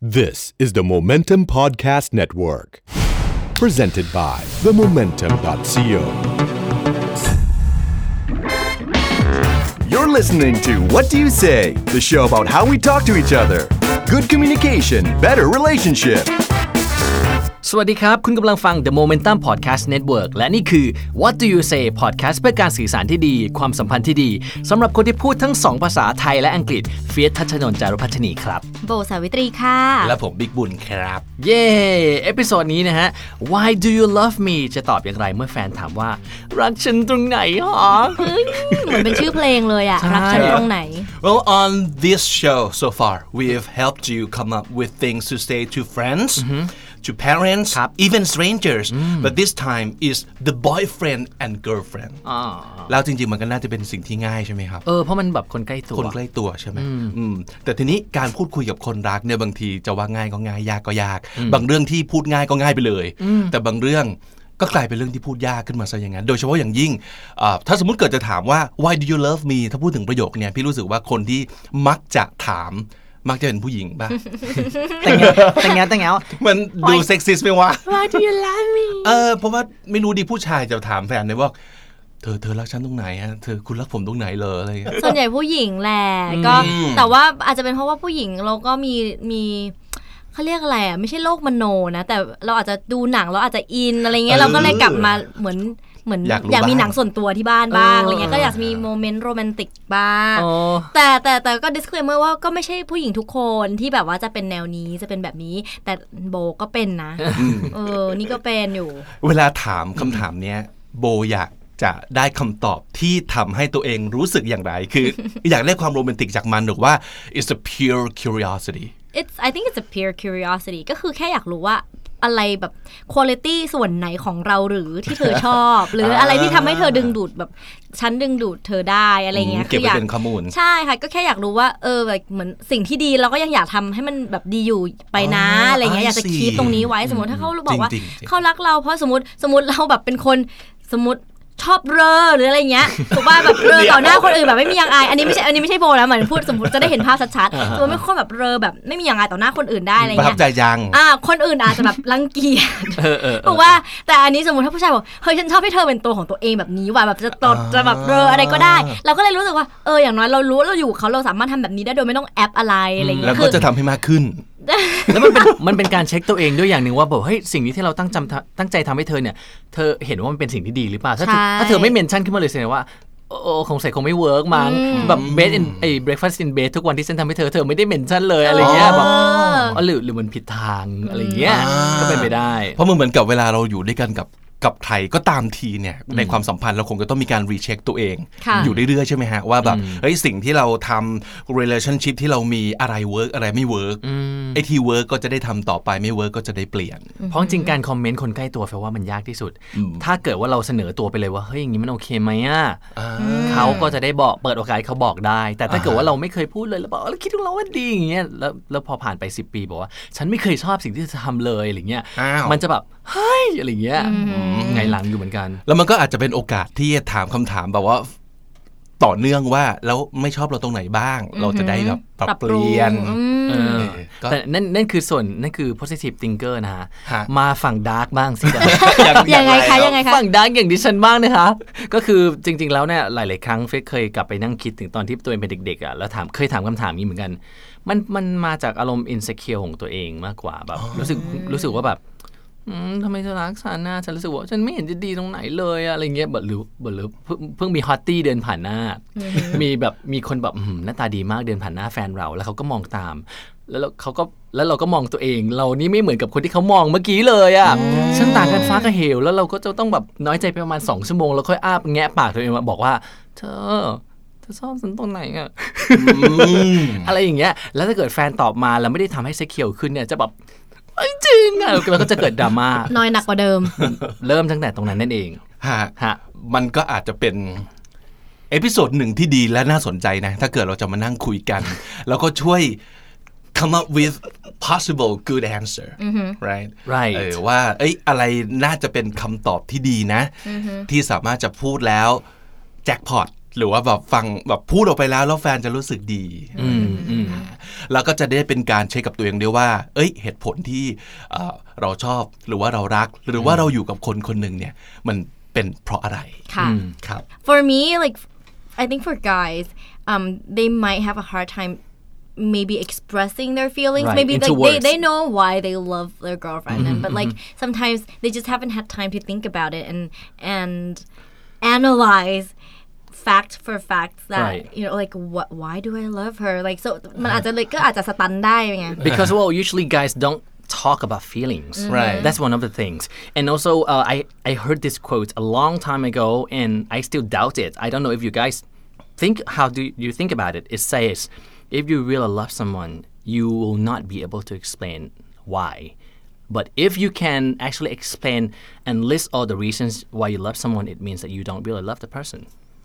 This is the Momentum Podcast Network, presented by themomentum.co. You're listening to What Do You Say? The show about how we talk to each other. Good communication, better relationship. สวัสดีครับคุณกำลังฟัง The Momentum Podcast Network และนี่คือ What Do You Say Podcast เพื่อการสื่อสารที่ดีความสัมพันธ์ที่ดีสำหรับคนที่พูดทั้ง2ภาษาไทยและอังกฤษเฟียส ทัชนนท์ จารุพัชนีครับโบสาวิตรีค่ะและผมบิ๊กบุญครับเย้เอพิโซดนี้นะฮะ Why do you love me จะตอบอย่างไรเมื่อแฟนถามว่ารักฉันตรงไหนหรอเหมือนเป็นชื่อเพลงเลยอะรักฉันตรงไหน Well on this show so far we have helped you come up with things to say to friends to parents even strangers but this time is the boyfriend and girlfriend แล้วจริงๆมันก็น่าจะเป็นสิ่งที่ง่ายใช่ไหมครับเพราะมันแบบคนใกล้ตัวใช่ไหมแต่ทีนี้การพูดคุยกับคนรักเนี่ยบางทีจะว่าง่ายก็ง่ายยากก็ยากบางเรื่องที่พูดง่ายก็ง่ายไปเลยแต่บางเรื่องก็กลายเป็นเรื่องที่พูดยากขึ้นมาซะอย่างนั้นโดยเฉพาะอย่างยิ่งถ้าสมมุติเกิดจะถามว่า why do you love me ถ้าพูดถึงประโยคเนี่ยพี่รู้สึกว่าคนที่มักจะถามมักจะเป็นผู้หญิงป่ะแต่งงามันดูเซ็กซิสต์ไหมวะ Why do you love me เพราะว่าไม่รู้ดิผู้ชายจะถามแฟนเลยว่าเธอรักฉันตรงไหนฮะคุณรักผมตรงไหนเลยอะไรอย่างเงี้ยส่วนใหญ่ผู้หญิงแหละก็แต่ว่าอาจจะเป็นเพราะว่าผู้หญิงเราก็มีเขาเรียกอะไรอ่ะไม่ใช่โลกมโนนะแต่เราอาจจะดูหนังเราอาจจะอินอะไรเงี้ยเราก็เลยกลับมาเหมือนอยากมีหนังส่วนตัวที่บ้านบ้างอะไรเงี้ยก็อยากมีโมเมนต์โรแมนติกบ้างแต่ก็ disclaimer ว่าก็ไม่ใช่ผู้หญิงทุกคนที่แบบว่าจะเป็นแนวนี้จะเป็นแบบนี้แต่โบก็เป็นนะนี่ก็เป็นอยู่เวลาถามคำถามเนี้ยโบอยากจะได้คำตอบที่ทำให้ตัวเองรู้สึกอย่างไรคือ อยากได้ความโรแมนติกจากมันหรือว่า it's a pure curiosity I think it's a pure curiosity ก็คือแค่อยากรู้ว่าอะไรแบบ quality ส่วนไหนของเราหรือที่เธอชอบ หรืออะไรที่ทำให้เธอดึงดูดแบบฉันดึงดูดเธอได้อะไรเงี้ยเก็บไว้เป็นข้อมูลใช่ค่ะก็แค่อยากรู้ว่าแบบเหมือนสิ่งที่ดีเราก็ยังอยากทำให้มันแบบดีอยู่ไปนะอะไรเงี้ยอยากจะคีปตรงนี้ไว้สมมติถ้าเขาบอกว่าเขารักเราเพราะสมมติเราแบบเป็นคนสมมติชอบเรอหรืออะไรเงี้ยถูกป่ะแบบเรอต่อหน้าคนอื่นแบบไม่มียังอายอันนี้ไม่ใช่โบนะเหมือนพูดสมมติจะได้เห็นภาพชัดๆตัวไม่ค่อยแบบเรอแบบไม่มียังอายต่อหน้าคนอื่นได้อะไรเงี้ยประทับใจยังคนอื่นอาจจะแบบรังเกียจถูกป่ะแต่อันนี้สมมติถ้าผู้ชายบอกเฮ้ยฉันชอบให้เธอเป็นตัวของตัวเองแบบนี้ว่ะแบบจะแบบเรออะไรก็ได้เราก็เลยรู้สึกว่าอย่างน้อยเรารู้เราอยู่เขาเราสามารถทำแบบนี้ได้โดยไม่ต้องแอปอะไรอะไรเงี้ยแล้วก็จะทำให้มากขึ้นแล้วมันเป็นการเช็คตัวเองด้วยอย่างหนึ่งว่าแบบเฮ้ยสิ่งนี้ที่เราตั้งใจทำให้เธอเนี่ยเธอเห็นว่ามันเป็นสิ่งที่ดีหรือเปล่าถ้าเธอไม่เมนชั่นขึ้นมาเลยแสดงว่าคงใส่คงไม่เวิร์กมั้งแบบเบสbreakfast in bed ทุกวันที่ฉันทำให้เธอไม่ได้เมนชั่นเลยอะไรเงี้ยแบบหรือมันผิดทางอะไรเงี้ยก็เป็นไปได้เพราะมันเหมือนกับเวลาเราอยู่ด้วยกันกับใครก็ตามทีเนี่ยในความสัมพันธ์เราคงจะต้องมีการรีเช็คตัวเองอยู่เรื่อยๆใช่ไหมฮะว่าแบบเฮ้ยสิ่งที่เราทำ relationship ที่เรามีอะไรเวิร์กอะไรไม่เวิร์กไอ้ที่เวิร์กก็จะได้ทำต่อไปไม่เวิร์กก็จะได้เปลี่ยนเพราะจริงการคอมเมนต์คนใกล้ตัวแปลว่ามันยากที่สุดถ้าเกิดว่าเราเสนอตัวไปเลยว่าเฮ้ยอย่างนี้มันโอเคไหมเขาก็จะได้บอกเปิดโอกาสเขาบอกได้แต่ถ้าเกิดว่าเราไม่เคยพูดเลยแล้วบอกแล้วคิดว่าเราว่าดีอย่างเงี้ยแล้วพอผ่านไป10 ปีบอกว่าฉันไม่เคยชอบสิ่งที่เธอทำเลยอะไรเงี้ยมันจะแบบเฮ้ยอะไรเงี้ยไงหลังอยู่เหมือนกันแล้วมันก็อาจจะเป็นโอกาสที่จะถามคำถามแบบว่าต่อเนื่องว่าแล้วไม่ชอบเราตรงไหนบ้างเราจะได้แบบปรับเปลี่ยนแต่นั่นคือ positive thinker นะฮะมาฝั่ง dark บ้างสิยังไงคะฝั่ง dark อย่างดิฉันบ้างนะคะก็คือจริงๆแล้วเนี่ยหลายๆครั้งเฟคเคยกลับไปนั่งคิดถึงตอนที่ตัวเองเป็นเด็กๆอ่ะแล้วเคยถามคำถามนี้เหมือนกันมันมาจากอารมณ์ insecure ของตัวเองมากกว่าแบบรู้สึกว่าแบบทำไมเธอรักฉันนะฉันรู้สึกว่าฉันไม่เห็นจะดีตรงไหนเลยอะไรเงี้ยหรือเพิ่งมีฮอตตี้เดินผ่านหน้ามีคนแบบหน้าตาดีมากเดินผ่านหน้าแฟนเราแล้วเขาก็มองตามแล้วเราก็มองตัวเองเรานี่ไม่เหมือนกับคนที่เขามองเมื่อกี้เลยอ่ะฉันต่างกันฟ้ากับเหวแล้วเราก็จะต้องแบบน้อยใจไปประมาณ2 ชั่วโมงแล้วค่อยอ้าแงะปากตัวเองมาบอกว่าเธอชอบฉันตรงไหนอ่ะ อะไรอย่างเงี้ยแล้วถ้าเกิดแฟนตอบมาแล้วไม่ได้ทำให้เซ็กเคียวขึ้นเนี่ยจะแบบจริงอ่ะแล้วก็จะเกิดดราม่าน้อยหนักกว่าเดิมเริ่มตั้งแต่ตรงนั้นนั่นเองฮะมันก็อาจจะเป็นเอพิโซดหนึ่งที่ดีและน่าสนใจนะถ้าเกิดเราจะมานั่งคุยกันแล้วก็ช่วย come up with possible good answer right ว่าอะไรน่าจะเป็นคำตอบที่ดีนะที่สามารถจะพูดแล้วแจ็คพอตหรือว่าแบบฟังแบบพูดออกไปแล้วแฟนจะรู้สึกดีแล้วก็จะได้เป็นการเช็คกับตัวเองด้วยว่าเอ้ยเหตุผลที่เราชอบหรือว่าเรารักหรือว่าเราอยู่กับคนคนหนึ่งเนี่ยมันเป็นเพราะอะไรค่ะครับ For me, like, I think for guys, they might have a hard time maybe expressing their feelings. Right, Maybe into like words. they know why they love their girlfriend, but like sometimes they just haven't had time to think about it and analyze fact for fact that Right. like why do I love her? Like so มันอาจจะเลยก็อาจจะสตันได้ไง Because well, usually guys don't talk about feelings. Right. That's one of the things. And also, I heard this quote a long time ago, and I still doubt it. I don't know if you guys think. How do you think about it? It says, if you really love someone, you will not be able to explain why. But if you can actually explain and list all the reasons why you love someone, it means that you don't really love the person.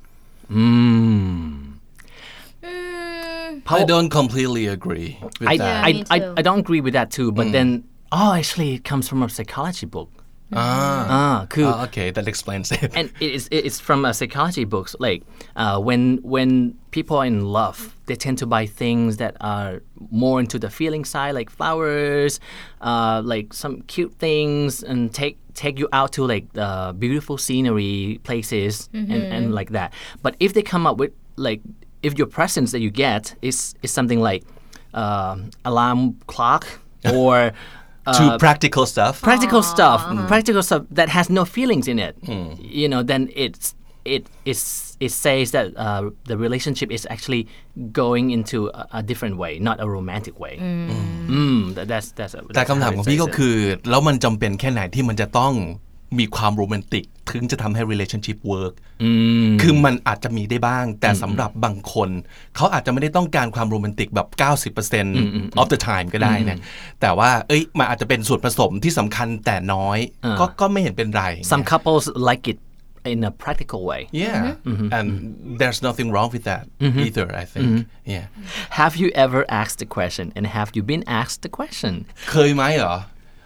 I don't completely agree with I, that. I, me I, too. I don't agree with that too. But then, actually, it comes from a psychology book. คือ okay that explains it and it's from a psychology books like when people are in love they tend to buy things that are more into the feeling side like flowers like some cute things and take you out to like beautiful scenery places and like that but if they come up with like if your presents that you get is something like alarm clock or to practical stuff practical stuff that has no feelings in it then it says that the relationship is actually going into a different way not a romantic way that's แต่คำถามของพี่ก็คือแล้วมันจำเป็นแค่ไหนที่มันจะต้องมีความโรแมนติกถึงจะทำให้ relationship work คือมันอาจจะมีได้บ้างแต่สำหรับบางคนเขาอาจจะไม่ได้ต้องการความโรแมนติกแบบ 90% of the time ก็ได้นะแต่ว่ามันอาจจะเป็นส่วนผสมที่สำคัญแต่น้อยก็ไม่เห็นเป็นไร some couples like it in a practical way yeah and there's nothing wrong with that either I think yeah have you ever asked the question and have you been asked the question เคยไหมเหรอ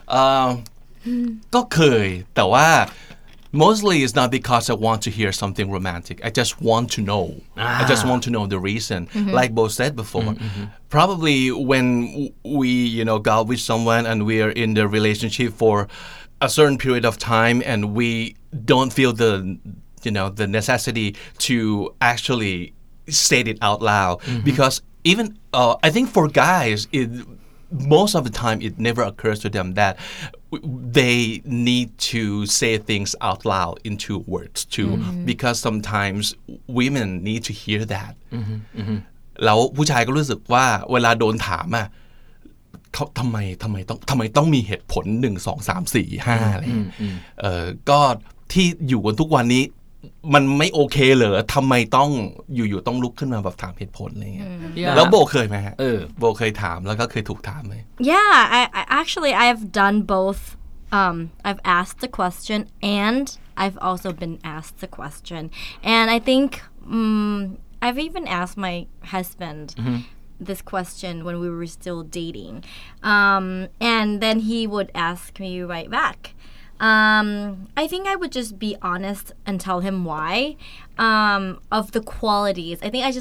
ก็เคยแต่ว่า mostly it's not because I want to hear something romantic I just want to know I just want to know the reason like Bo said before probably when we go out with someone and we are in the relationship for a certain period of time and we don't feel the necessity to actually say it out loud because even I think for guys most of the time it never occurs to them that they need to say things out loud into words too because sometimes women need to hear that แล้วผู้ชายก็รู้สึกว่าเวลาโดนถามอ่ะเขาทำไมต้องมีเหตุผล1 2 3 4 5อะไรก็ที่อยู่กันทุกวันนี้มันไม่โอเคเหรอทำไมต้องอยู่ต้องลุกขึ้นมาแบบถามเหตุผลอะไรเงี้ยแล้วโบเคยไหมฮะโบเคยถามแล้วก็เคยถูกถามไหม Yeah, I actually I've done both. I've asked the question and I've also been asked the question, and I think I've even asked my husband this question when we were still dating, and then he would ask me right back. I think I would just be honest and tell him why of the qualities. I think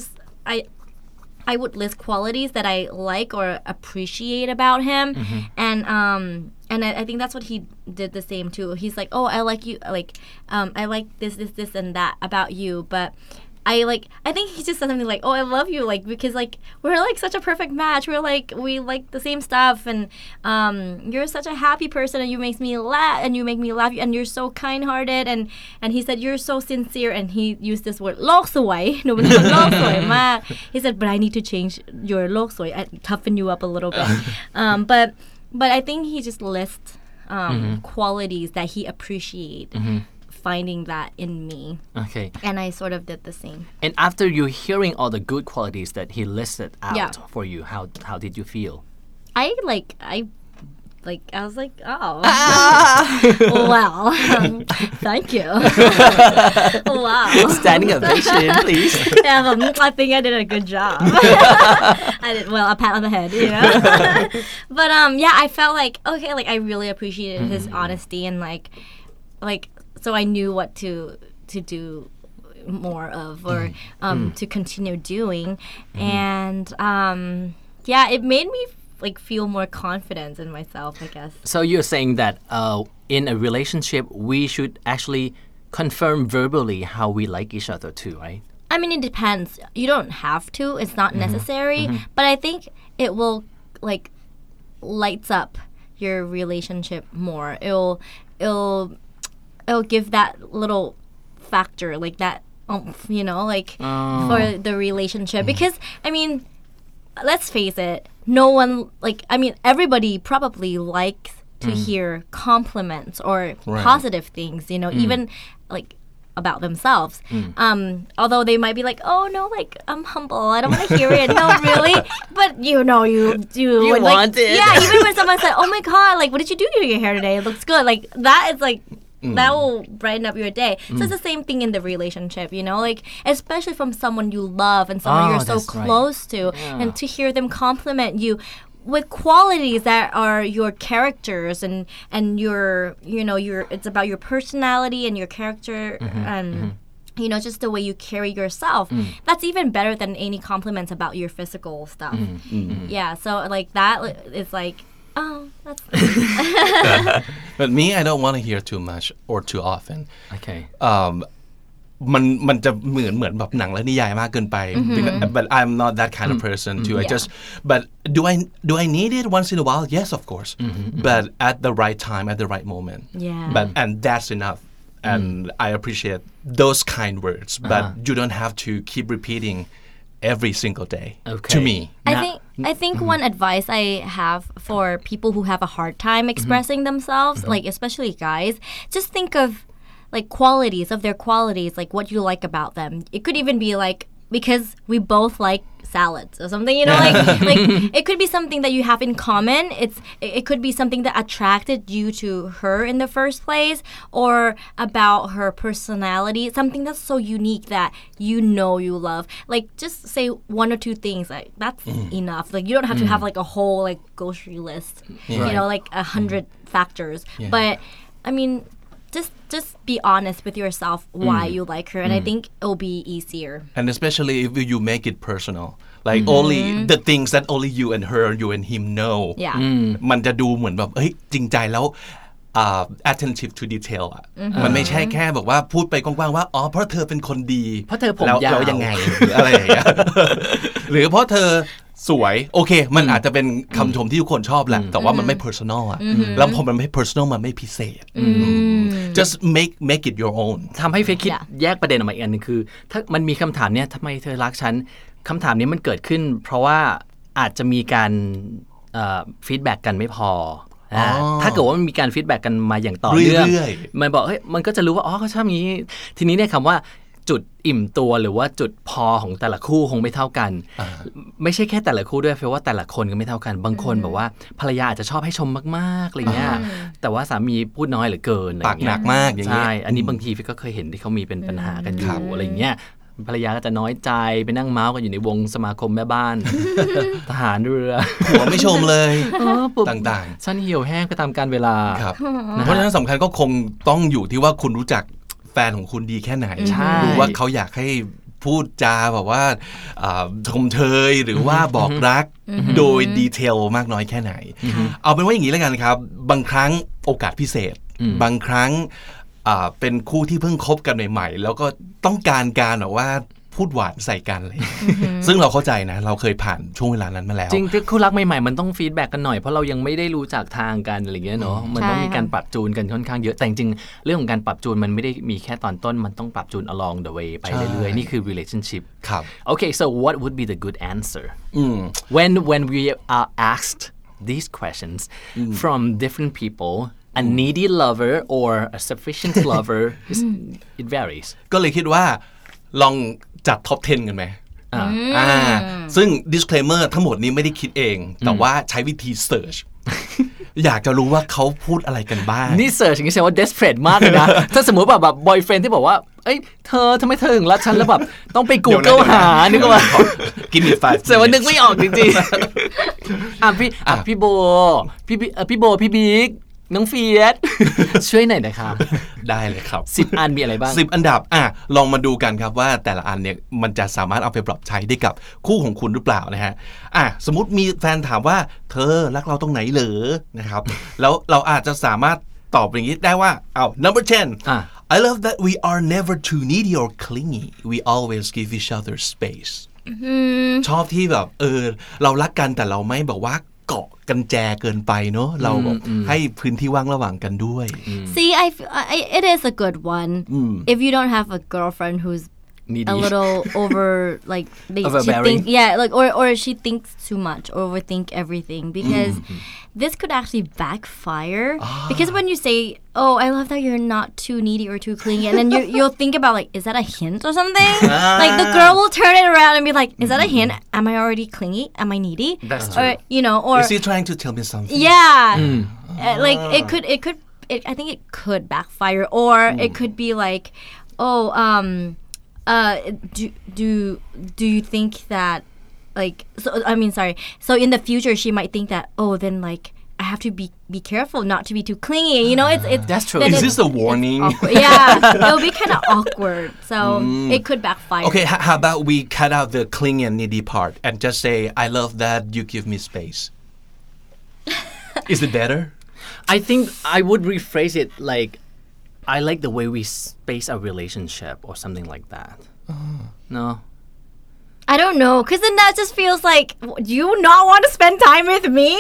I would list qualities that I like or appreciate about him, and I think that's what he did the same too. He's like, oh, I like you, like I like this and that about you, but I think he just said something like, oh, I love you, like because like we're like such a perfect match. We like the same stuff, and you're such a happy person, and you make me laugh, and you're so kind-hearted, and he said you're so sincere, and he used this word โลกสวย หนูเป็นคนโลกสวยมาก He said, but I need to change your โลกสวย I toughen you up a little bit, but I think he just lists qualities that he appreciate. Finding that in me. Okay. And I sort of did the same. And after you hearing all the good qualities that he listed out for you, how did you feel? I was like, oh, well, thank you. Wow. Standing ovation, please. Yeah, I think I did a good job. I did a pat on the head, But yeah, I felt like okay, like I really appreciated his honesty and like. So I knew what to do more of or to continue doing. And yeah, it made me like feel more confidence in myself, I guess. So you're saying that in a relationship we should actually confirm verbally how we like each other too, right? I mean, it depends. You don't have to. It's not necessary. But I think it will like lights up your relationship more. It'll give that little factor, like that, you know, like for the relationship. Because I mean, let's face it. No one everybody probably likes to hear compliments or positive things. You know, even like about themselves. Although they might be like, oh no, like I'm humble, I don't want to hear it. No, really, but you know, you would, want like, it. Yeah, even when someone said, oh my god, like what did you do to your hair today? It looks good. Like that is like that will brighten up your day. So it's the same thing in the relationship, you know, like especially from someone you love and someone you're so close to, and to hear them compliment you with qualities that are your characters and your, you know, your, it's about your personality and your character and you know, just the way you carry yourself. That's even better than any compliments about your physical stuff. Yeah, so like that is like, oh, that's But me, I don't want to hear too much or too often. Okay. มันจะเหมือนแบบหนังและนิยายมากเกินไป but I'm not that kind of person too. I just but do I need it once in a while? Yes, of course. But at the right time, at the right moment. Yeah. And that's enough. And I appreciate those kind words. But you don't have to keep repeating every single day to me. I think one advice I have for people who have a hard time expressing themselves, like especially guys, just think of like qualities of their qualities, like what you like about them. It could even be like, because we both like salads or something, you know, like it could be something that you have in common. It could be something that attracted you to her in the first place, or about her personality, something that's so unique that you know you love. Like just say one or two things, like that's enough. Like you don't have to have like a whole like grocery list, you know, like 100 factors. But I mean, just be honest with yourself why you like her, and I think it'll be easier. And especially if you make it personal, like only the things that only you and her, you and him know. Yeah. มันจะดูเหมือนแบบเฮ้ยจริงใจแล้วattentive to detail อ่ะมันไม่ใช่แค่บอกว่าพูดไปกว้างๆว่าอ๋อเพราะเธอเป็นคนดีเพราะเธอผมยาวแล้วยังไงหรืออะไรอย่างเงี้ย หรือเพราะเธอสวยโอเคมันอาจจะเป็นคำชมที่ทุกคนชอบแหละแต่ว่ามันไม่ personal อ่ะแล้วพอมันไม่ personal มันไม่พิเศษ just make it your own ทำให้เฟซคิดแยกประเด็นออกมาอีกอันนึงคือถ้ามันมีคำถามเนี้ยทำไมเธอรักฉันคำถามนี้มันเกิดขึ้นเพราะว่าอาจจะมีการฟีดแบ็กกันไม่พอถ้าเกิดว่ามันมีการฟีดแบ็กกันมาอย่างต่อเนื่องมันบอกเฮ้ยมันก็จะรู้ว่าอ๋อเขาชอบนี้ทีนี้เนี่ยคำว่าจุดอิ่มตัวหรือว่าจุดพอของแต่ละคู่คงไม่เท่ากันไม่ใช่แค่แต่ละคู่ด้วยเพราะว่าแต่ละคนก็ไม่เท่ากันบางคนแบบว่าภรรยาอาจจะชอบให้ชมมากๆอะไรเงี้ยแต่ว่าสามีพูดน้อยเหลือเกินปากหนักมากอย่างเงี้ยใช่อันนี้บางทีก็เคยเห็นที่เขามีเป็นปัญหากันอยู่อะไรเงี้ยภรรยาก็จะน้อยใจไปนั่งเมาส์กันอยู่ในวงสมาคมแม่บ้าน ทหารเรือหัวไม่ชมเลยต่างๆฉันเหี่ยวแห้งไปตามกาลเวลาครับเพราะฉะนั้นสำคัญก็คงต้องอยู่ที่ว่าคุณรู้จักแฟนของคุณดีแค่ไหนรู้ว่าเขาอยากให้พูดจาแบบว่าชมเชยหรือว่าบอกรักโดยดีเทลมากน้อยแค่ไหนเอาเป็นว่าอย่างนี้แล้วกันครับบางครั้งโอกาสพิเศษบางครั้งเป็นคู่ที่เพิ่งคบกันใหม่ๆแล้วก็ต้องการแบบว่าพูดหวานใส่กันเลยซึ่งเราเข้าใจนะเราเคยผ่านช่วงเวลานั้นมาแล้วจริงๆคู่รักใหม่ๆมันต้องฟีดแบ็กกันหน่อยเพราะเรายังไม่ได้รู้จักทางกันอะไรเงี้ยเนาะมันต้องมีการปรับจูนกันค่อนข้างเยอะแต่จริงๆเรื่องของการปรับจูนมันไม่ได้มีแค่ตอนต้นมันต้องปรับจูน along the way ไปเรื่อยๆนี่คือ relationship ครับ Okay so what would be the good answer when we are asked these questions from different people a needy lover or a sufficient lover it varies ก็เลยคิดว่าลองจัดท็อป 10 กันไหมซึ่ง disclaimer ทั้งหมดนี้ไม่ได้คิดเองแต่ว่าใช้วิธี search อยากจะรู้ว่าเขาพูดอะไรกันบ้างนี่ search อย่างนี้แสดงว่า desperate มากเลยนะ ถ้าสมมติแบบ boyfriend ที่บอกว่าเอ้ยเธอทำไมเธอถึงรักฉันแล้วแบบต้องไป Google หานึกว่ากินอีก5 แต่ว่านึกไม่ออกจริงๆพี่โบพี่บิ๊กน้องเฟียส ช่วยหน่อยนะคะได้เลยครับ 10 อันมีอะไรบ้าง 10 อันดับลองมาดูกันครับว่าแต่ละอันเนี่ยมันจะสามารถเอาไปปรับใช้ได้กับคู่ของคุณหรือเปล่านะฮะสมมุติมีแฟนถามว่าเธอรักเราตรงไหนเหรอนะครับ แล้วเราอาจจะสามารถตอบอย่างนี้ได้ว่าnumber 10 I love that we are never too needy or clingy we always give each other space ชอบที่แบบเรารักกันแต่เราไม่แบบว่าเกาะกันแจเกินไปเนอะเราแบบให้พื้นที่ว่างระหว่างกันด้วย See, it is a good one. If you don't have a girlfriend who's Needy. a little over, like she Overbearing. like or she thinks too much, or overthink everything, because this could actually backfire. Because when you say, "Oh, I love that you're not too needy or too clingy," and then you'll think about like, is that a hint or something? Like the girl will turn it around and be like, "Is that a hint? Am I already clingy? Am I needy?" That's true. Or Is he trying to tell me something? yeah, like it could. I think it could backfire, or it could be like, oh, do you think that, like, so in the future she might think that, oh, then like I have to be careful not to be too clingy. It's That's true. Is this a warning? Yeah, it'll be kind of awkward. So it could backfire. Okay, how about we cut out the clingy and needy part and just say, I love that you give me space. Is it better? I think I would rephrase it like I like the way we space our relationship or something like that. No? I don't know, because then that just feels like, do you not want to spend time with me?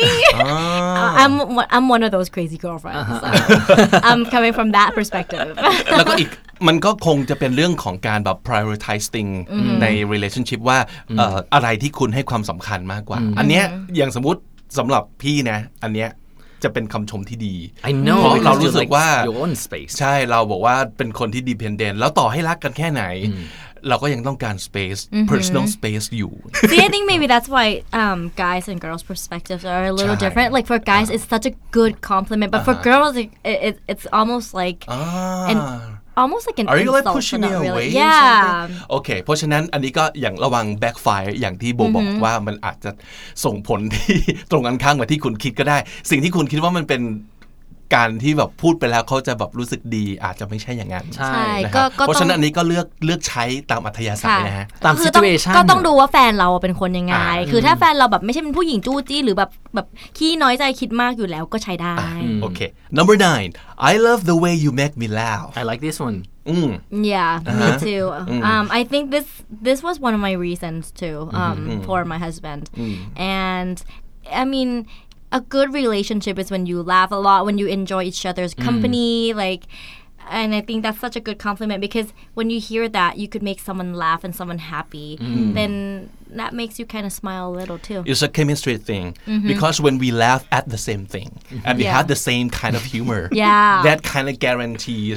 I'm one of those crazy girlfriends. So I'm coming from that perspective. แล้วก็อีกมันก็คงจะเป็นเรื่องของการแบบ prioritize thing ใน relationship ว่าอะไรที่คุณให้ความสำคัญมากกว่า อันเนี้ยอย่างสมมุติสำหรับพี่นะอันเนี้ยจะเป็นคำชมที่ดี I know เพราะเรา because รู้ you สึ like กว่า your own space. ใช่เราบอกว่าเป็นคนที่ dependent แล้วต่อให้รักกันแค่ไหนเราก็ยังต้องการ space personal space อยู่ See, I think maybe that's why guys and girls' perspectives are a little different. Like for guys, it's such a good compliment, but for girls, it's almost like almost like an Are you like insult, pushing but me not away? really. Yeah. โอเคเพราะฉะนั้นอันนี้ก็อย่างระวัง backfire อย่างที่โบบอกว่ามันอาจจะส่งผลที่ ตรงกันข้ามกับที่คุณคิดก็ได้ สิ่งที่คุณคิดว่ามันเป็นการที่แบบพูดไปแล้วเขาจะแบบรู้สึกดีอาจจะไม่ใช่อย่างนั้นใช่นะครับก็เพราะฉะนั้นอันนี้ก็เลือกใช้ตามอัธยาศัยนะฮะตามคือต้อง situation ก็ต้องดูว่าแฟนเราเป็นคนยังไง คือถ้าแฟนเราแบบไม่ใช่เป็นผู้หญิงจู้จี้หรือแบบขี้น้อยใจคิดมากอยู่แล้วก็ใช้ได้โอเค number 9 I love the way you make me laugh I like this one. Yeah, me too. I think this was one of my reasons too for my husband. And I mean, a good relationship is when you laugh a lot, when you enjoy each other's company, like, and I think that's such a good compliment because when you hear that you could make someone laugh and someone happy, then that makes you kind of smile a little too. It's a chemistry thing because when we laugh at the same thing and we have the same kind of humor, that kind of guarantees,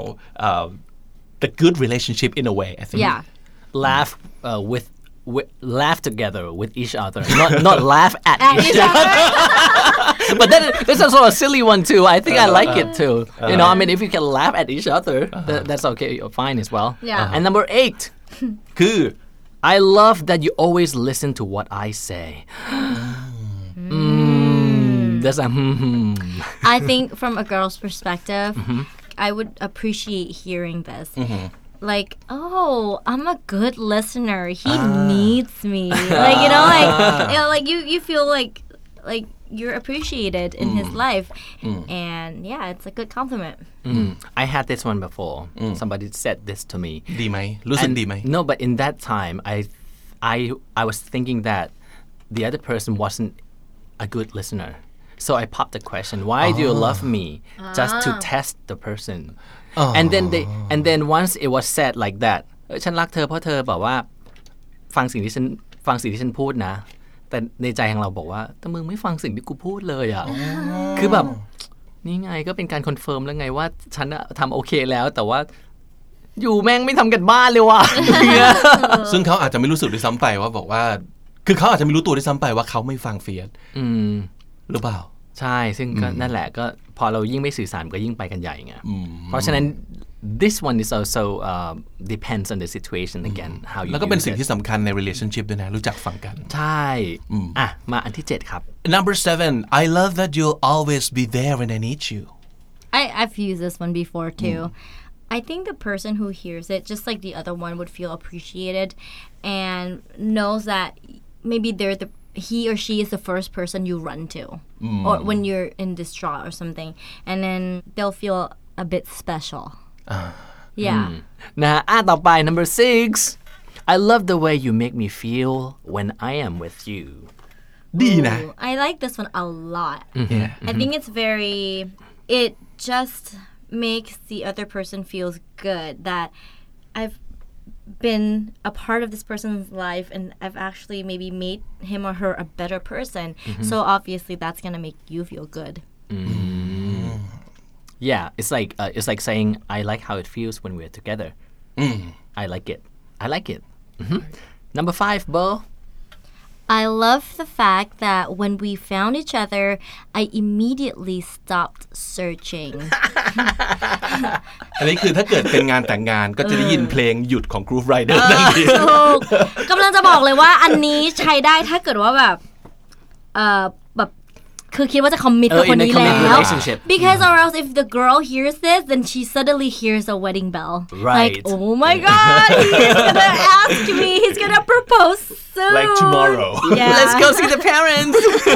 the good relationship in a way, I think. Yeah. Laugh with laugh together with each other, not laugh at each other. But that's also a silly one too. I think I like it too. I mean, if you can laugh at each other, that's okay, fine as well. Yeah. And number 8, คือ I love that you always listen to what I say. That's a I think from a girl's perspective, I would appreciate hearing this. Like, oh, I'm a good listener. He needs me. Like, like you feel like you're appreciated in his life. And yeah, it's a good compliment. I had this one before. Somebody said this to me. ดีไหมรู้สึกดีไหม No, but in that time, I was thinking that the other person wasn't a good listener. So I popped the question, why do you love me? Just to test the person. And then once it was said like that, ฉันรักเธอเพราะเธอบอกว่าฟังสิ่งที่ฉันพูดนะ แต่ในใจของเราบอกว่าแต่มึงไม่ฟังสิ่งที่กูพูดเลยอ่ะ คือแบบนี่ไงก็เป็นการคอนเฟิร์มแล้วไงว่าฉันทำโอเคแล้วแต่ว่าอยู่แม่งไม่ทำกันบ้านเลยว่ะซึ่งเขาอาจจะไม่รู้สึกด้วยซ้ำไปว่าบอกว่าคือเขาอาจจะไม่รู้ตัวด้วยซ้ำไปว่าเขาไม่ฟังเฟียสหรือเปล่าใช่ซึ่งก็นั่นแหละก็พอเรายิ่งไม่สื่อสารก็ยิ่งไปกันใหญ่ไงเพราะฉะนั้น this one is also depends on the situation again how you แล้วก็เป็น use สิ่ง it ที่สำคัญใน relationship ด้วยนะรู้จักฟังกันใช่อ่ะมาอันที่7ครับ Number 7 I love that you'll always be there when I need you I've used this one before too. I think the person who hears it, just like the other one, would feel appreciated and knows that maybe he or she is the first person you run to, or when you're in distraught or something, and then they'll feel a bit special. Yeah. นะต่อไป number 6 I love the way you make me feel when I am with you ดีนะ Ooh, I like this one a lot. Yeah. I think it's it just makes the other person feels good that I've been a part of this person's life and I've actually maybe made him or her a better person. So obviously that's going to make you feel good. yeah it's like saying I like how it feels when we're together I like it number 5 Bo I love the fact that when we found each other, I immediately stopped searching. อันนี้คือถ้าเกิดเป็นงานแต่งงานก็จะได้ยินเพลงหยุดของ Groove Rider นั่นเองถูกกำลังจะบอกเลยว่าอันนี้ใช้ได้ถ้าเกิดว่าแบบแบบคือคิดว่าจะคอมมิตกับคนนี้ in a แล้ว committed relationship because or else if the girl hears this then she suddenly hears a wedding bell Right. like oh my god he's gonna ask me he's gonna propose soon Like tomorrow yeah. let's go see the parents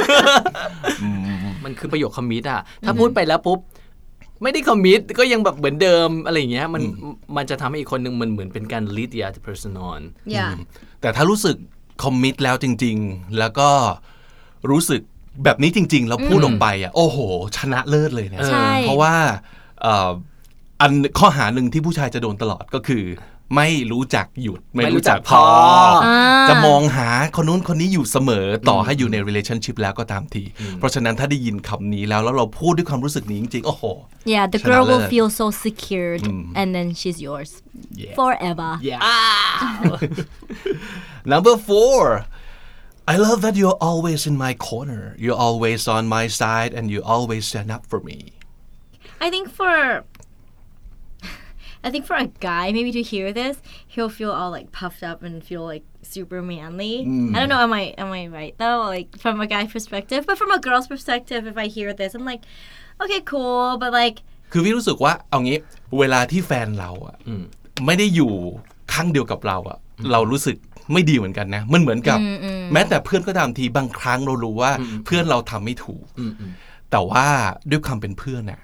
มันคือประโยคคอมมิตอะถ้าพูดไปแล้วปุ๊บไม่ได้คอมมิตก็ยังแบบเหมือนเดิมอะไรอย่างเงี้ยมันจะทำให้อีกคนนึงมันเหมือนเป็นการ lead the other person on yeah แต่ถ้ารู้สึกคอมมิตแล้วจริงๆแล้วก็รู้สึกแบบนี้จริงๆเราพูดออกไปอ่ะโอ้โหชนะเลิศเลยนะใช่เพราะว่าอันข้อหาหนึ่งที่ผู้ชายจะโดนตลอดก็คือไม่รู้จักหยุดไม่รู้จักพอจะมองหาคนนู้นคนนี้อยู่เสมอต่อให้อยู่ใน relationship แล้วก็ตามทีเพราะฉะนั้นถ้าได้ยินคำนี้แล้วเราพูดด้วยความรู้สึกนี้จริงๆโอ้โห yeah the girl will feel so secured and then she's yours forever Number 4 I love that you're always in my corner you're always on my side and you always stand up for me I think for a guy maybe to hear this he'll feel all like puffed up and feel like super manly I don't know am I right though like from a guy perspective but from a girl's perspective if I hear this I'm like okay cool but like คือพี่รู้สึกว่าเอางี้เวลาที่แฟนเราอ่ะไม่ได้อยู่ข้างเดียวกับเราอ่ะเรารู้สึกไม่ดีเหมือนกันนะมันเหมือนกับแม้แต่เพื่อนก็ตามทีบางครั้งเรารู้ว่าเพื่อนเราทำไม่ถูกแต่ว่าด้วยความเป็นเพื่อนน่ะ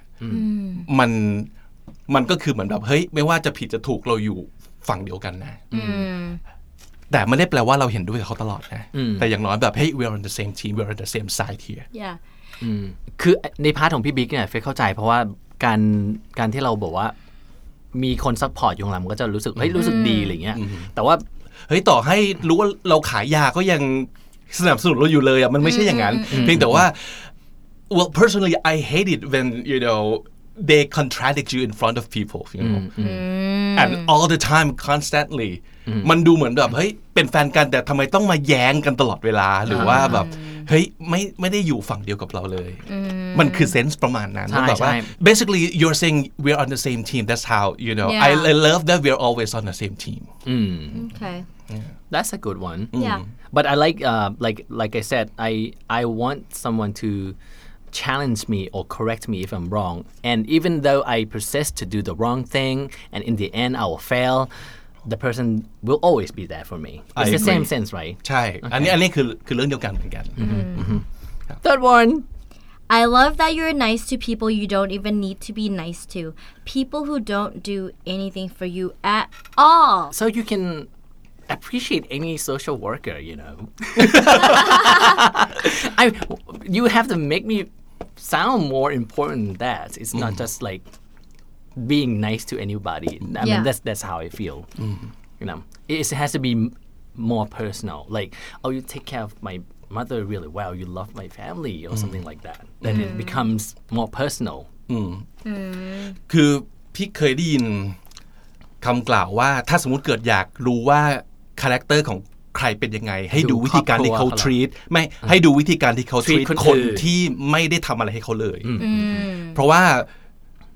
มันก็คือเหมือนแบบเฮ้ยไม่ว่าจะผิดจะถูกเราอยู่ฝั่งเดียวกันนะแต่ไม่ได้แปลว่าเราเห็นด้วยกับเขาตลอดนะแต่อย่างน้อยแบบเฮ้ย we're on the same team we're on the same side here yeah คือในพาร์ทของพี่บิ๊กเนี่ยเฟซเข้าใจเพราะว่าการที่เราบอกว่ามีคนซัพพอร์ตอยู่ข้างหลังมันก็จะรู้สึกเฮ้ยรู้สึกดีอะไรเงี้ยแต่ว่าเฮ้ยต่อให้รู้ว่าเราขายยาก็ยังสนับสนุนเราอยู่เลยอ่ะมันไม่ใช่อย่างนั้นเพียงแต่ว่า well personally I hate it when you know they contradict you in front of people you know and all the time constantly มันดูเหมือนแบบเฮ้ยเป็นแฟนกันแต่ทำไมต้องมาแย้งกันตลอดเวลาหรือว่าแบบเฮ้ยไม่ได้อยู่ฝั่งเดียวกับเราเลยมันคือเซนส์ประมาณนั้นแบบว่า basically you're saying we're on the same team that's how you know I love that we're always on the same team okay that's a good one yeah but I like I said I want someone to challenge me or correct me if I'm wrong and even though I persist to do the wrong thing and in the end I will fail the person will always be there for me it's the same sense right ใช่อันนี้คือเรื่องเดียวกันเหมือนกัน third one I love that you're nice to people you don't even need to be nice to people who don't do anything for you at all so you can appreciate any social worker you know you have to make me sound more important than that it's not just like being nice to anybody I mean that's how I feel you know it has to be more personal like oh you take care of my mother really well you love my family or something like that then it becomes more personal คือพี่เคยได้ยินคำกล่าวว่าถ้าสมมุติเกิดอยากรู้ว่าคาแรคเตอร์ของใครเป็นยังไงให้ดูวิธีการที่เขา treat ไม่ให้ดูวิธีการที่เขา treat คนที่ไม่ได้ทำอะไรให้เขาเลยเพราะว่า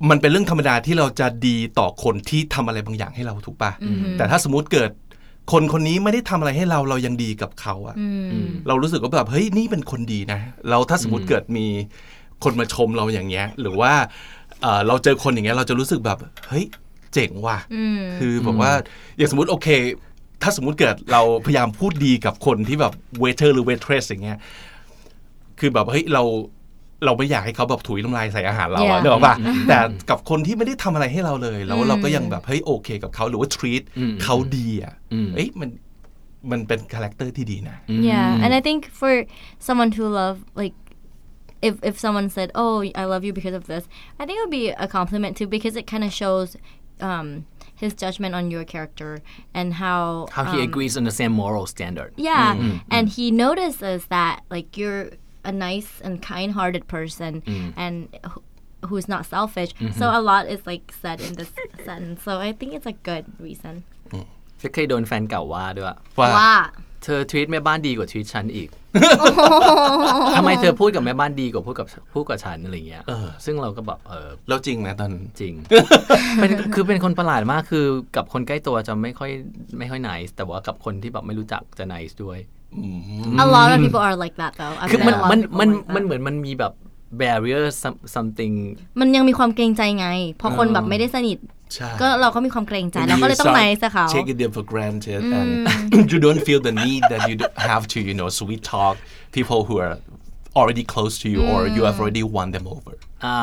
มันเป็นเรื่องธรรมดาที่เราจะดีต่อคนที่ทำอะไรบางอย่างให้เราถูกป่ะแต่ถ้าสมมติเกิดคนคนนี้ไม่ได้ทำอะไรให้เรายังดีกับเขาอะเรารู้สึกว่าแบบเฮ้ยนี่เป็นคนดีนะเราถ้าสมมติเกิดมีคนมาชมเราอย่างเงี้ยหรือว่าเราเจอคนอย่างเงี้ยเราจะรู้สึกแบบเฮ้ยเจ๋งว่ะคือแบบว่าอย่างสมมติโอเคถ้าสมมติเกิดเราพยายามพูดดีกับคนที่แบบเวเทอร์หรือเวทเทรสอย่างเงี้ยคือแบบเฮ้ยเราไม่อยากให้เขาแบบถุยน้ำลายใส่อาหารเราอะนึกออกป่ะแต่กับคนที่ไม่ได้ทำอะไรให้เราเลยแล้วเราก็ยังแบบเฮ้ยโอเคกับเขาหรือว่า treat เขาดีอะเอ้ยมันเป็นคาแรคเตอร์ที่ดีนะ Yeah and I think for someone to love like if someone said oh I love you because of this I think it would be a compliment too because it kind of shows his judgment on your character and how he agrees on the same moral standard and he notices that like you're a nice and kind-hearted person and who's not selfish so a lot is like said in this sentence so I think it's a good reason เคยโดนแฟนเก่าว่าด้วยว่าเธอทวีตแม่บ้านดีกว่าทวีตฉันอีกทำไมเธอพูดกับแม่บ้านดีกว่าพูดกับฉันอะไรเงี้ยซึ่งเราก็แบบแล้วจริงไหมตอนจริง คือเป็นคนประหลาดมากคือกับคนใกล้ตัวจะไม่ค่อย nice แต่ว่ากับคนที่แบบไม่รู้จักจะ nice ด้วย A lot of people are like that though คือมันเหมือนมันมีแบบ barrier something มันยังมีความเกรงใจไงพอคนแบบไม่ได้สนิทก็เราก็มีความเกรงใจเราก็เลยต้อง nice กับเขา taking them for granted and you don't feel the need that you have to sweet talk people who are already close to you or you have already won them over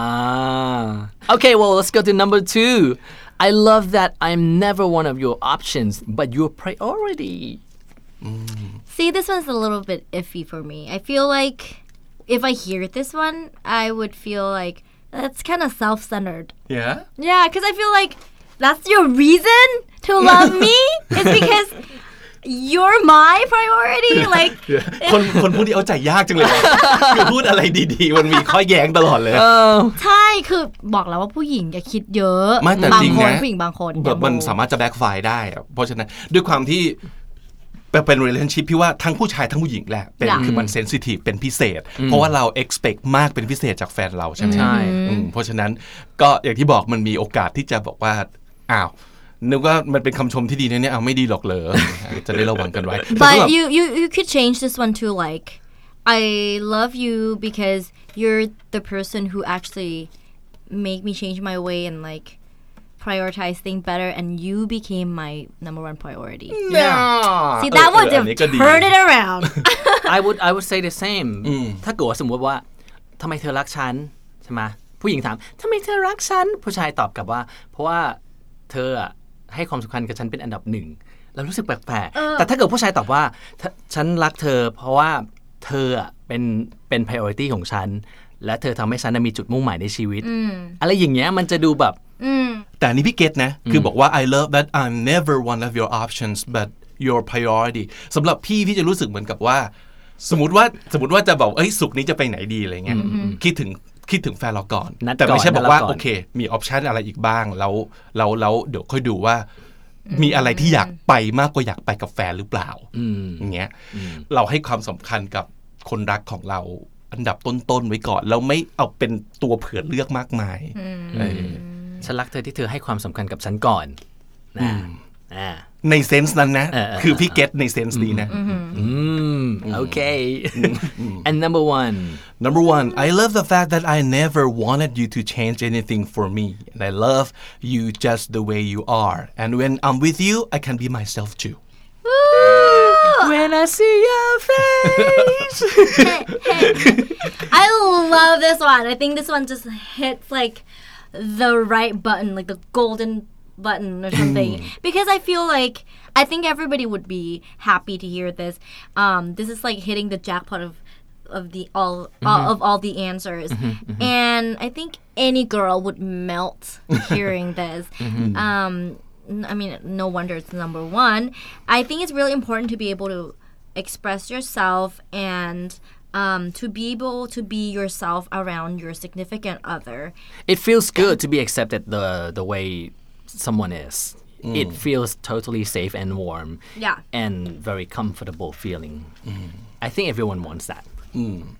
okay well let's go to number 2 I love that I'm never one of your options but your priority See this one's a little bit iffy for me I feel like if I hear this one I would feel like that's kind of self-centered yeah because I feel like that's your reason to love me it's because you're my priority like คนพูดที่เอาใจยากจังเลยคือพูดอะไรดีๆมันมีข้อแย้งตลอดเลยใช่คือบอกแล้วว่าผู้หญิงอย่าคิดเยอะบางคนผู้หญิงบางคนแบบมันสามารถจะแบ็คไฟร์ได้เพราะฉะนั้นด้วยความที่เป็น relationship พี่ว่าทั้งผู้ชายทั้งผู้หญิงแหละคือมัน sensitive เป็นพิเศษเพราะว่าเรา expect มากเป็นพิเศษจากแฟนเราใช่ไหมเพราะฉะนั้นก็อย่างที่บอกมันมีโอกาสที่จะบอกว่าอ้าวนึกว่ามันเป็นคำชมที่ดีนะเนี่ยไม่ดีหรอกเลยจะได้ระวังกันไว้ But you could change this one to like I love you because you're the person who actually make me change my way and like prioritize things better and you became my number one priority see that would have turned it around I would say the same ถ้าเกิดว่าสมมติว่าทำไมเธอรักฉันใช่ไหมผู้หญิงถามทำไมเธอรักฉันผู้ชายตอบกลับว่าเพราะว่าเธอให้ความสำคัญกับฉันเป็นอันดับหนึ่งเรารู้สึกแปลกๆแต่ถ้าเกิดผู้ชายตอบว่าฉันรักเธอเพราะว่าเธอเป็น priority ของฉันและเธอทำให้ฉันมีจุดมุ่งหมายในชีวิตอะไรอย่างเงี้ยมันจะดูแบบแต่นี่พี่เกตนะคือบอกว่า I love that I'm never one of your options but your priority สำหรับพี่จะรู้สึกเหมือนกับว่าสมมติว่าจะบอกสุกนี้จะไปไหนดีอะไรเงี้ยคิดถึงแฟนเราก่อนแต่ไม่ใช่บอกว่าโอเคมีออปชันอะไรอีกบ้างแล้วเดี๋ยวค่อยดูว่ามีอะไรที่อยากไปมากกว่าอยากไปกับแฟนหรือเปล่าอย่างเงี้ยเราให้ความสำคัญกับคนรักของเราอันดับต้นๆไว้ก่อนแล้วไม่เอาเป็นตัวเผื่อเลือกมากมายฉันรักเธอที่เธอให้ความสำคัญกับฉันก่อนในเซนส์นั้นนะคือพี่เก็ตในเซนส์นี้นะ Okay and number one I love the fact that I never wanted you to change anything for me and I love you just the way you are and when I'm with you I can be myself too When I see your face I love this one I think this one just hits like the right button like the golden button or something because I feel like I think everybody would be happy to hear this this is like hitting the jackpot of the all the answers and I think any girl would melt hearing this I mean no wonder it's number one I think it's really important to be able to express yourself and to be able to be yourself around your significant other it feels good to be accepted the way someone is it feels totally safe and warm and very comfortable feeling I think everyone wants that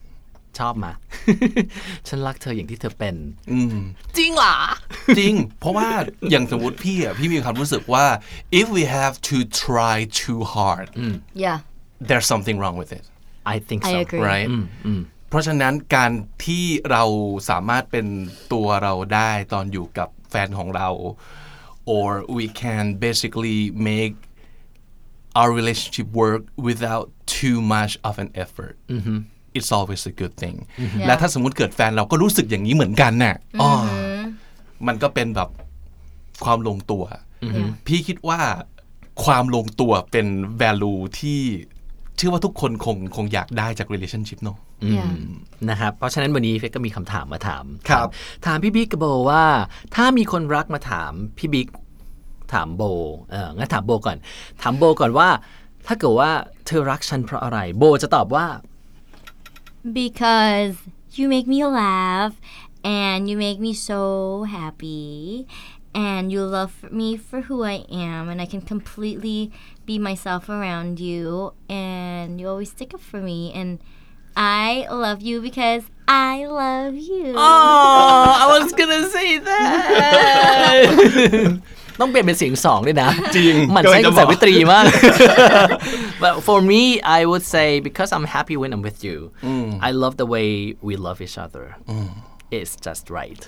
ชอบมา ฉันรักเธออย่างที่เธอเป็นจริงเหรอ จริง เพราะว่าอย่างสมมติพี่มีความรู้สึกว่า if we have to try too hard yeah there's something wrong with it I think I so agree right เพราะฉะนั้นการที่เราสามารถเป็นตัวเราได้ตอนอยู่กับแฟนของเรา or we can basically make our relationship work without too much of an effort it's always a good thing และถ้าสมมุติเกิดแฟนเราก็รู้สึกอย่างนี้เหมือนกันน่ะมันก็เป็นแบบความลงตัวพี่คิดว่าความลงตัวเป็น value ที่เชื่อว่าทุกคนคงอยากได้จาก relationship เนอะนะครับเพราะฉะนั้นวันนี้เฟกก็มีคำถามมาถามครับถามพี่บิ๊กกับโบว่าถ้ามีคนรักมาถามพี่บิ๊กถามโบงั้นถามโบก่อนถามโบก่อนว่าถ้าเกิดว่าเธอรักฉันเพราะอะไรโบจะตอบว่า because you make me laugh and you make me so happy and you love me for who I am and I can completely be myself around you and you always stick up for me and I love you because I love you Oh I was gonna say that ต้องเปลี่ยนเป็นเสียงสองด้วยนะจริงมันใช้กับสาวิตรีมาก But for me I would say because I'm happy when I'm with you I love the way we love each other It's just right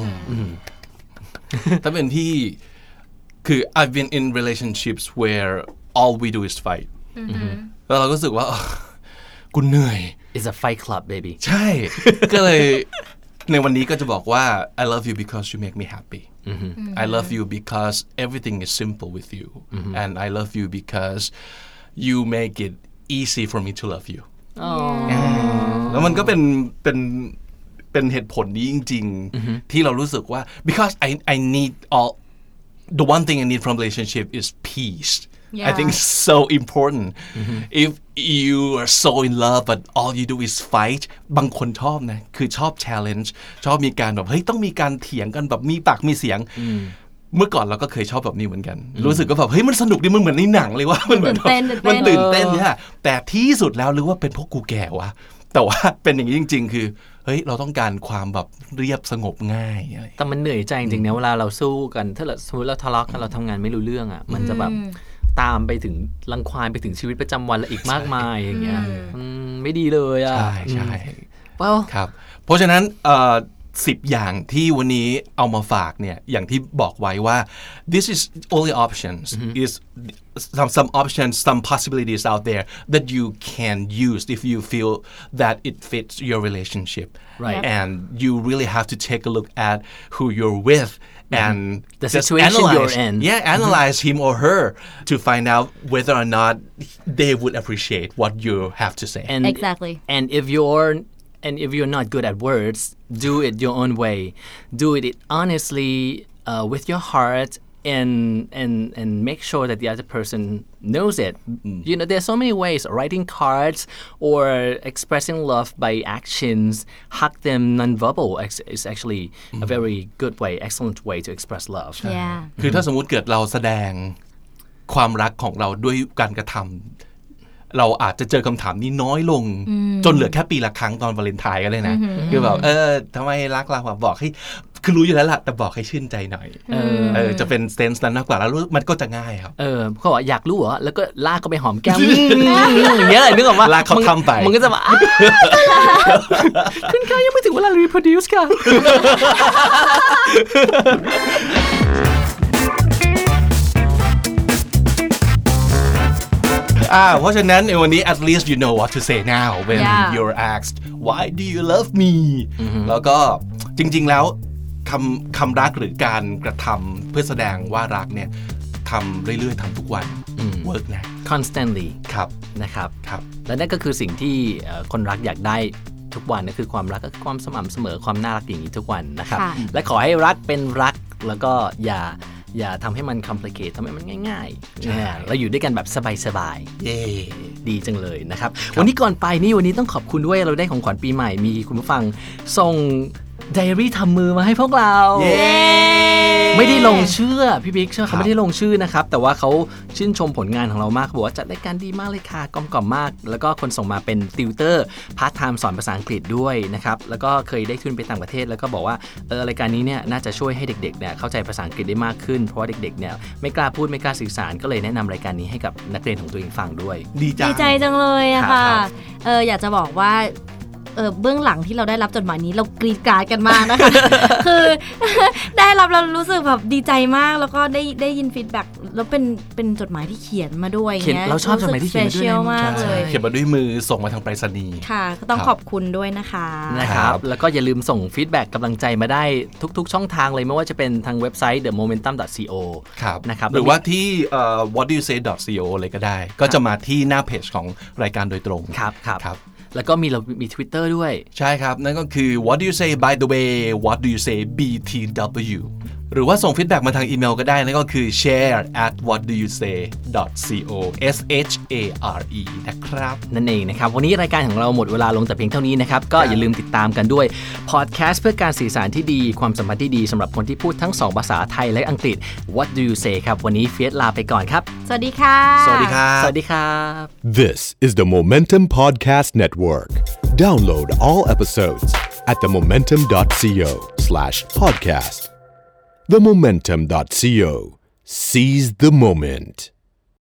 ถ้าเป็นพี่คือ I've been in relationships where all we do is fight แล้วเราก็รู้สึกว่ากูเหนื่อย It's a fight club baby ใช่ ก็เลยในวันนี้ก็จะบอกว่า I love you because you make me happy I love you because everything is simple with you and I love you because you make it easy for me to love you แล้วมันก็เป็นเหตุผลนี้จริงๆที่เรารู้สึกว่า because I need all the one thing I need from relationship is peace I think it's so important if you are so in love but all you do is fight บางคนชอบนะคือชอบ challenge ชอบมีการแบบเฮ้ยต้องมีการเถียงกันแบบมีปากมีเสียงเมื่อก่อนเราก็เคยชอบแบบนี้เหมือนกันรู้สึกก็แบบเฮ้ยมันสนุกดีมันเหมือนในหนังเลยว่ามันเหมือนมันตื่นเต้นเนี่ยแต่ที่สุดแล้วหรือว่าเป็นเพราะกูแก่วะแต่ว่าเป็นอย่างนี้จริงๆคือเฮ้ยเราต้องการความแบบเรียบสงบง่ายอะไรแต่มันเหนื่อยใจจริงๆนะเวลาเราสู้กันถ้าสมมติเราทะเลาะกันเราทำงานไม่รู้เรื่องอ่ะมันจะแบบตามไปถึงรังควานไปถึงชีวิตประจำวันและอีกมากมายอย่างเงี้ยไม่ดีเลยอ่ะใช่ครับเพราะฉะนั้น10 อย่างที่วันนี้เอามาฝากเนี่ยอย่างที่บอกไว้ว่า this is only options is some options some possibilities out there that you can use if you feel that it fits your relationship right and you really have to take a look at who you're with and the situation you're in analyze him or her to find out whether or not they would appreciate what you have to say exactly and if you're not good at words do it your own way do it honestly with your heart and make sure that the other person knows it you know there's so many ways writing cards or expressing love by actions hug them non-verbal is actually a very good way excellent way to express love คือถ้าสมมุติเกิดเราแสดงความรักของเราด้วยการกระทำเราอาจจะเจอคำถามนี้น้อยลงจนเหลือแค่ปีละครั้งตอนวาเลนไทน์ก็เลยนะคือแบบทำไมรักเราบอกให้คือรู้อยู่แล้วล่ะแต่บอกให้ชื่นใจหน่อยจะเป็นเซนส์นั้นมากกว่าแล้วมันก็จะง่ายครับเขาบอกอยากรู้เหรอแล้วก็ลากเขาไปหอมแก้มอย่างเงี้ยนึกออกว่าลากเขาทำไปมันก็จะแบบคุณค่ะยังไม่ถึงเวลา reproduce ค่ะเพราะฉะนั้นในวันนี้ at least you know what to say now when you're asked why do you love me แล้วก็จริงๆแล้วคำรักหรือการกระทำเพื่อแสดงว่ารักเนี่ยทำเรื่อยๆทำทุกวัน work นะ constantly ครับนะครับและนั่นก็คือสิ่งที่คนรักอยากได้ทุกวันนั่นคือความรักก็คือความสม่ำเสมอความน่ารักอย่างนี้ทุกวันนะครับและขอให้รักเป็นรักแล้วก็อย่าทำให้มัน complicate ทำให้มันง่ายๆเราอยู่ด้วยกันแบบสบายๆดีจังเลยนะครับวันนี้ก่อนไปนี่วันนี้ต้องขอบคุณด้วยเราได้ของขวัญปีใหม่มีคุณผู้ฟังส่งไดอารี่ทำมือมาให้พวกเราไม่ได้ลงชื่อพี่บิ๊กเชื่อเขาไม่ได้ลงชื่อนะครับแต่ว่าเขาชื่นชมผลงานของเรามากบอกว่าจัดรายการดีมากเลยค่ะกลมกล่อมมากแล้วก็คนส่งมาเป็นติวเตอร์พาร์ทไทม์สอนภาษาอังกฤษด้วยนะครับแล้วก็เคยได้ทุนไปต่างประเทศแล้วก็บอกว่ารายการนี้เนี่ยน่าจะช่วยให้เด็กๆเนี่ยเข้าใจภาษาอังกฤษได้มากขึ้นเพราะว่าเด็กๆเนี่ยไม่กล้าพูดไม่กล้าสื่อสารก็เลยแนะนำรายการนี้ให้กับนักเรียนของตัวเองฟังด้วยดีใจจังเลยอะค่ะอยากจะบอกว่าเบื้องหลังที่เราได้รับจดหมายนี้เรากรีดกราดกันมากนะคะ คือได้รับเรารู้สึกแบบดีใจมากแล้วก็ได้ยินฟีดแบ็กแล้วเป็นจดหมายที่เขียนมาด้วยเงี้ยเราชอบจดหมายที่เขียนมาด้วยมากเลยเขียนมาด้วยมือส่งมาทางไปรษณีย์ค่ะก็ต้องขอบคุณด้วยนะคะแล้วก็อย่าลืมส่งฟีดแบ็กกำลังใจมาได้ทุกๆช่องทางเลยไม่ว่าจะเป็นทางเว็บไซต์ themomentum.co นะครับหรือว่าที่whatdoyousay.co เลยก็ได้ก็จะมาที่หน้าเพจของรายการโดยตรงครับแล้วก็เรามี Twitter ด้วยใช่ครับนั่นก็คือ what do you say by the way what do you say btw หรือว่าส่งฟีดแบ็กมาทางอีเมลก็ได้นั่นก็คือ share@whatdoyousay.co share นะครับนั่นเองนะครับวันนี้รายการของเราหมดเวลาลงแต่เพียงเท่านี้นะครับก็อย่าลืมติดตามกันด้วยพอดแคสต์เพื่อการสื่อสารที่ดีความสัมพันธ์ที่ดีสำหรับคนที่พูดทั้ง2ภาษาไทยและอังกฤษ What do you say ครับวันนี้เฟียสลาไปก่อนครับสวัสดีค่ะสวัสดีครับสวัสดีครับ This is the Momentum Podcast Network. Download all episodes at themomentum.co/podcast. Themomentum.co. Seize the moment.